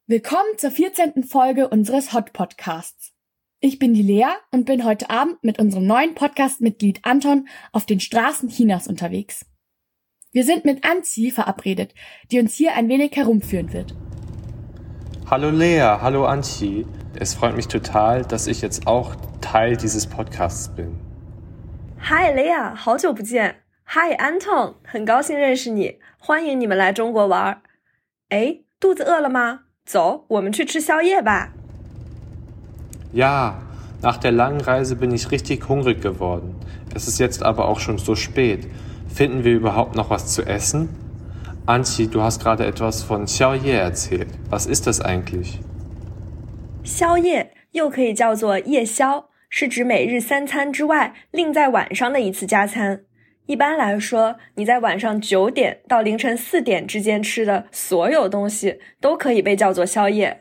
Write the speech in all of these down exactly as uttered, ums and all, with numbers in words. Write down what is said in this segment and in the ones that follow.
Willkommen zur vierzehnten Folge unseres Hot Podcasts. Ich bin die Lea und bin heute Abend mit unserem neuen Podcast-Mitglied Anton auf den Straßen Chinas unterwegs. Wir sind mit Anzi verabredet, die uns hier ein wenig herumführen wird. Hallo Lea, hallo Anchi. Es freut mich total, dass ich jetzt auch Teil dieses Podcasts bin. Hi Lea, 好久不见。Hi Anton， 很高兴认识你，欢迎你们来中国玩。哎，肚子饿了吗？走，我们去吃宵夜吧。 Ja, nach der langen Reise bin ich richtig hungrig geworden. Es ist jetzt aber auch schon so spät. Finden wir überhaupt noch was zu essen? Anchi, du hast gerade etwas von Xiaoye erzählt. Was ist das eigentlich? 宵夜又可以叫做夜宵，是指每日三餐之外另在晚上的一次加餐。一般来说，你在晚上九点到凌晨四点之间吃的所有东西都可以被叫做宵夜。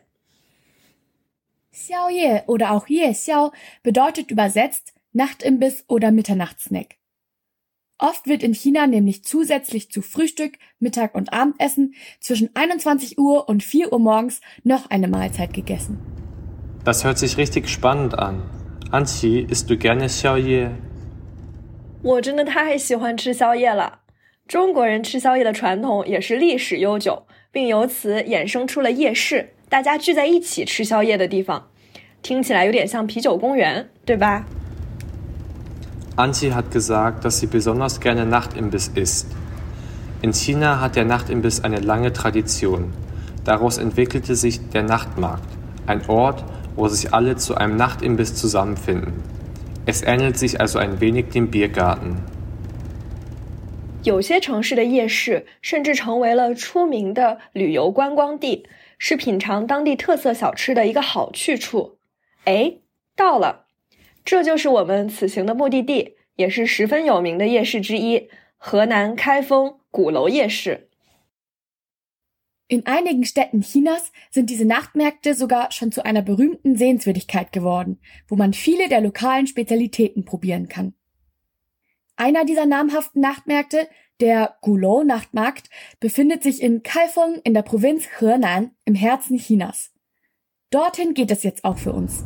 Xiaoye oder auch Yexiao bedeutet übersetzt Nachtimbiss oder Mitternachtssnack. Oft wird in China nämlich zusätzlich zu Frühstück, Mittag und Abendessen zwischen einundzwanzig Uhr und vier Uhr morgens noch eine Mahlzeit gegessen. Das hört sich richtig spannend an. Anchi, isst du gerne Xiaoye? 我真的太喜欢吃宵夜了。中国人吃宵夜的传统也是历史悠久，并由此衍生出了夜市，大家聚在一起吃宵夜的地方。听起来有点像啤酒公园，对吧？ Anchi hat gesagt, dass sie besonders gerne Nachtimbiss isst. In China hat der Nachtimbiss eine lange Tradition. Daraus entwickelte sich der Nachtmarkt, ein Ort, wo sich alle zu einem Nachtimbiss zusammenfinden. Es ähnelt sich also ein wenig dem Biergarten. 有些城市的夜市甚至成为了出名的旅游观光地，是品尝当地特色小吃的一个好去处。哎，到了，这就是我们此行的目的地，也是十分有名的夜市之一——河南开封鼓楼夜市。 In einigen Städten Chinas sind diese Nachtmärkte sogar schon zu einer berühmten Sehenswürdigkeit geworden, wo man viele der lokalen Spezialitäten probieren kann. Einer dieser namhaften Nachtmärkte, der Gulou-Nachtmarkt, befindet sich in Kaifeng in der Provinz Henan im Herzen Chinas. Dorthin geht es jetzt auch für uns.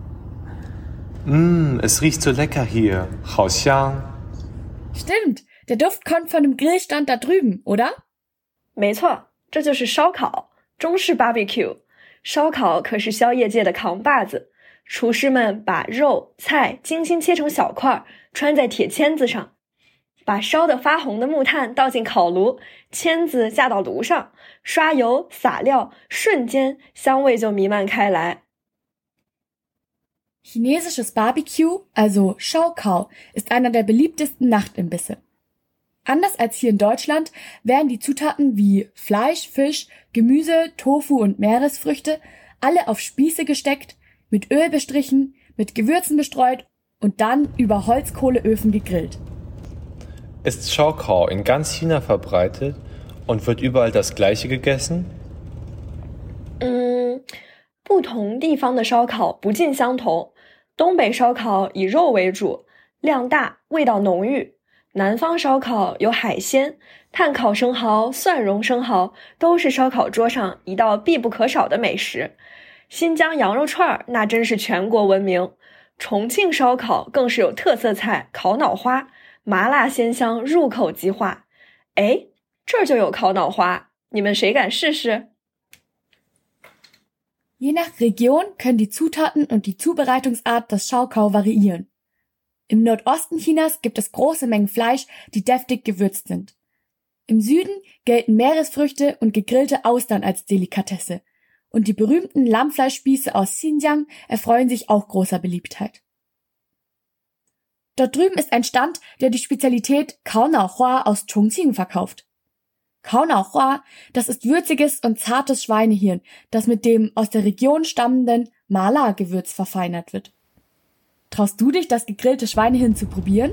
Mmm, es riecht so lecker hier. 好香. Stimmt, der Duft kommt von dem Grillstand da drüben, oder? 没错。这就是烧烤，中式 barbecue。烧烤可是宵夜界的扛把子，厨师们把肉菜精心切成小块，穿在铁签子上，把烧得发红的木炭倒进烤炉，签子架到炉上，刷油撒料，瞬间香味就弥漫开来。 Chinesisches Barbecue, also Shaokao, ist einer der beliebtesten Nachtimbisse. Anders als hier in Deutschland werden die Zutaten wie Fleisch, Fisch, Gemüse, Tofu und Meeresfrüchte alle auf Spieße gesteckt, mit Öl bestrichen, mit Gewürzen bestreut und dann über Holzkohleöfen gegrillt. Ist Shaokao in ganz China verbreitet und wird überall das Gleiche gegessen? 嗯，不同地方的烧烤不尽相同。东北烧烤以肉为主，量大，味道浓郁。南方烧烤有海鲜，炭烤生蚝、蒜蓉生蚝都是烧烤桌上一道必不可少的美食。新疆羊肉串那真是全国闻名，重庆烧烤更是有特色菜烤脑花，麻辣鲜香，入口即化。哎，这儿就有烤脑花，你们谁敢试试？ Je nach Region können die Zutaten und die Zubereitungsart des Shaokao variieren. Im Nordosten Chinas gibt es große Mengen Fleisch, die deftig gewürzt sind. Im Süden gelten Meeresfrüchte und gegrillte Austern als Delikatesse. Und die berühmten Lammfleischspieße aus Xinjiang erfreuen sich auch großer Beliebtheit. Dort drüben ist ein Stand, der die Spezialität Kaonaohua aus Chongqing verkauft. Kaonaohua, das ist würziges und zartes Schweinehirn, das mit dem aus der Region stammenden Mala-Gewürz verfeinert wird. Traust du dich, das gegrillte Schweinehirn zu probieren?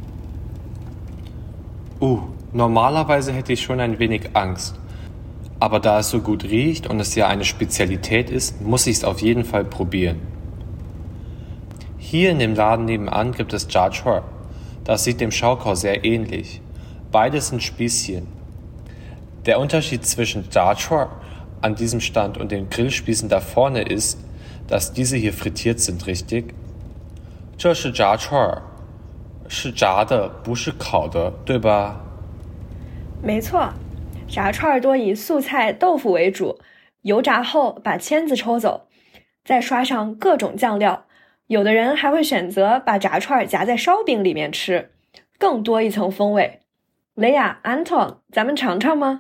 Uh, normalerweise hätte ich schon ein wenig Angst. Aber da es so gut riecht und es ja eine Spezialität ist, muss ich es auf jeden Fall probieren. Hier in dem Laden nebenan gibt es Jiachua. Das sieht dem Shaokao sehr ähnlich. Beides sind Spießchen. Der Unterschied zwischen Jiachua an diesem Stand und den Grillspießen da vorne ist, dass diese hier frittiert sind, richtig? 这是炸串儿，是炸的，不是烤的，对吧？ 没错，炸串儿多以素菜豆腐为主，油炸后把签子抽走，再刷上各种酱料。有的人还会选择把炸串儿夹在烧饼里面吃，更多一层风味。雷亚、Anton， 咱们尝尝吗？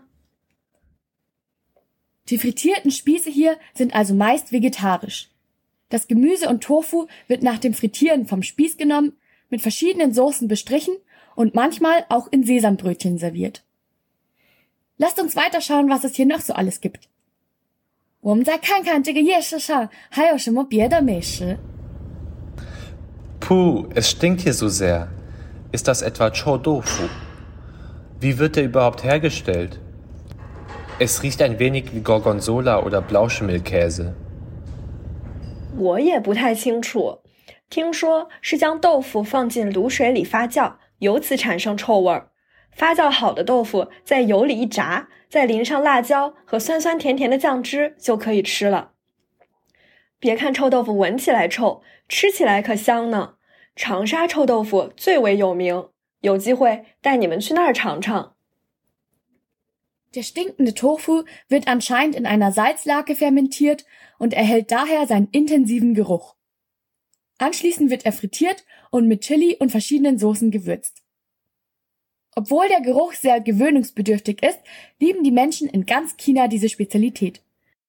Die frittierten Spieße hier sind also meist vegetarisch. Das Gemüse und Tofu wird nach dem Frittieren vom Spieß genommen, mit verschiedenen Soßen bestrichen und manchmal auch in Sesambrötchen serviert. Lasst uns weiterschauen, was es hier noch so alles gibt. 我们再看看这个夜市上还有什么别的美食。 Puh, es stinkt hier so sehr. Ist das etwa Chou Tofu? Wie wird der überhaupt hergestellt? Es riecht ein wenig wie Gorgonzola oder Blauschimmelkäse. 我也不太清楚，听说是将豆腐放进卤水里发酵，由此产生臭味儿。发酵好的豆腐在油里一炸，再淋上辣椒和酸酸甜甜的酱汁就可以吃了。别看臭豆腐闻起来臭，吃起来可香呢。长沙臭豆腐最为有名，有机会带你们去那儿尝尝。 Der stinkende Tofu wird anscheinend in einer Salzlake fermentiert und erhält daher seinen intensiven Geruch. Anschließend wird er frittiert und mit Chili und verschiedenen Soßen gewürzt. Obwohl der Geruch sehr gewöhnungsbedürftig ist, lieben die Menschen in ganz China diese Spezialität.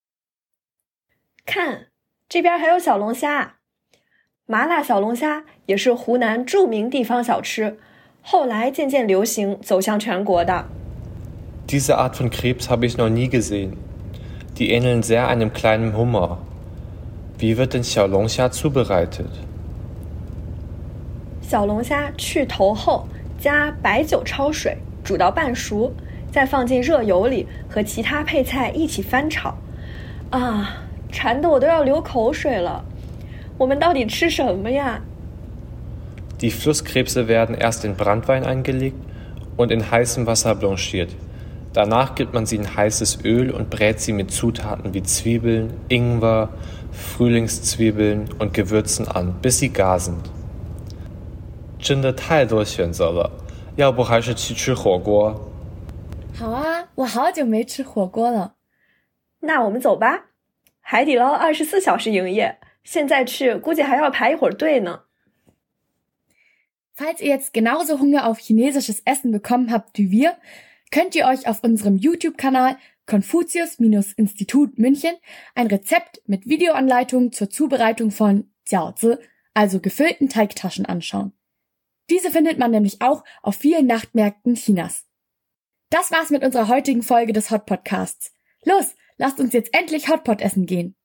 看，这边还有小龙虾。麻辣小龙虾也是湖南著名地方小吃，后来渐渐流行，走向全国的。 Diese Art von Krebs habe ich noch nie gesehen. Die ähneln sehr einem kleinen Hummer. Wie wird denn Xiaolongxia zubereitet? 小龙虾去头后，加白酒焯水，煮到半熟，再放进热油里和其他配菜一起翻炒。啊，馋得我都要流口水了。我们到底吃什么呀？ Die Flusskrebse werden erst in Branntwein eingelegt und in heißem Wasser blanchiert. Danach gibt man sie in heißes Öl und brät sie mit Zutaten wie Zwiebeln, Ingwer, Frühlingszwiebeln und Gewürzen an, bis sie gar sind. 真的太多选择了，要不还是去吃火锅？ 好啊，我好久没吃火锅了。 那我们走吧。海底捞二十四小时营业，现在去估计还要排一会儿队呢。 Falls ihr jetzt genauso Hunger auf chinesisches Essen bekommen habt wie wir, könnt ihr euch auf unserem YouTube-Kanal Konfuzius-Institut München ein Rezept mit Videoanleitungen zur Zubereitung von Jiaozi, also gefüllten Teigtaschen, anschauen. Diese findet man nämlich auch auf vielen Nachtmärkten Chinas. Das war's mit unserer heutigen Folge des Hot Podcasts. Los, lasst uns jetzt endlich Hotpot essen gehen.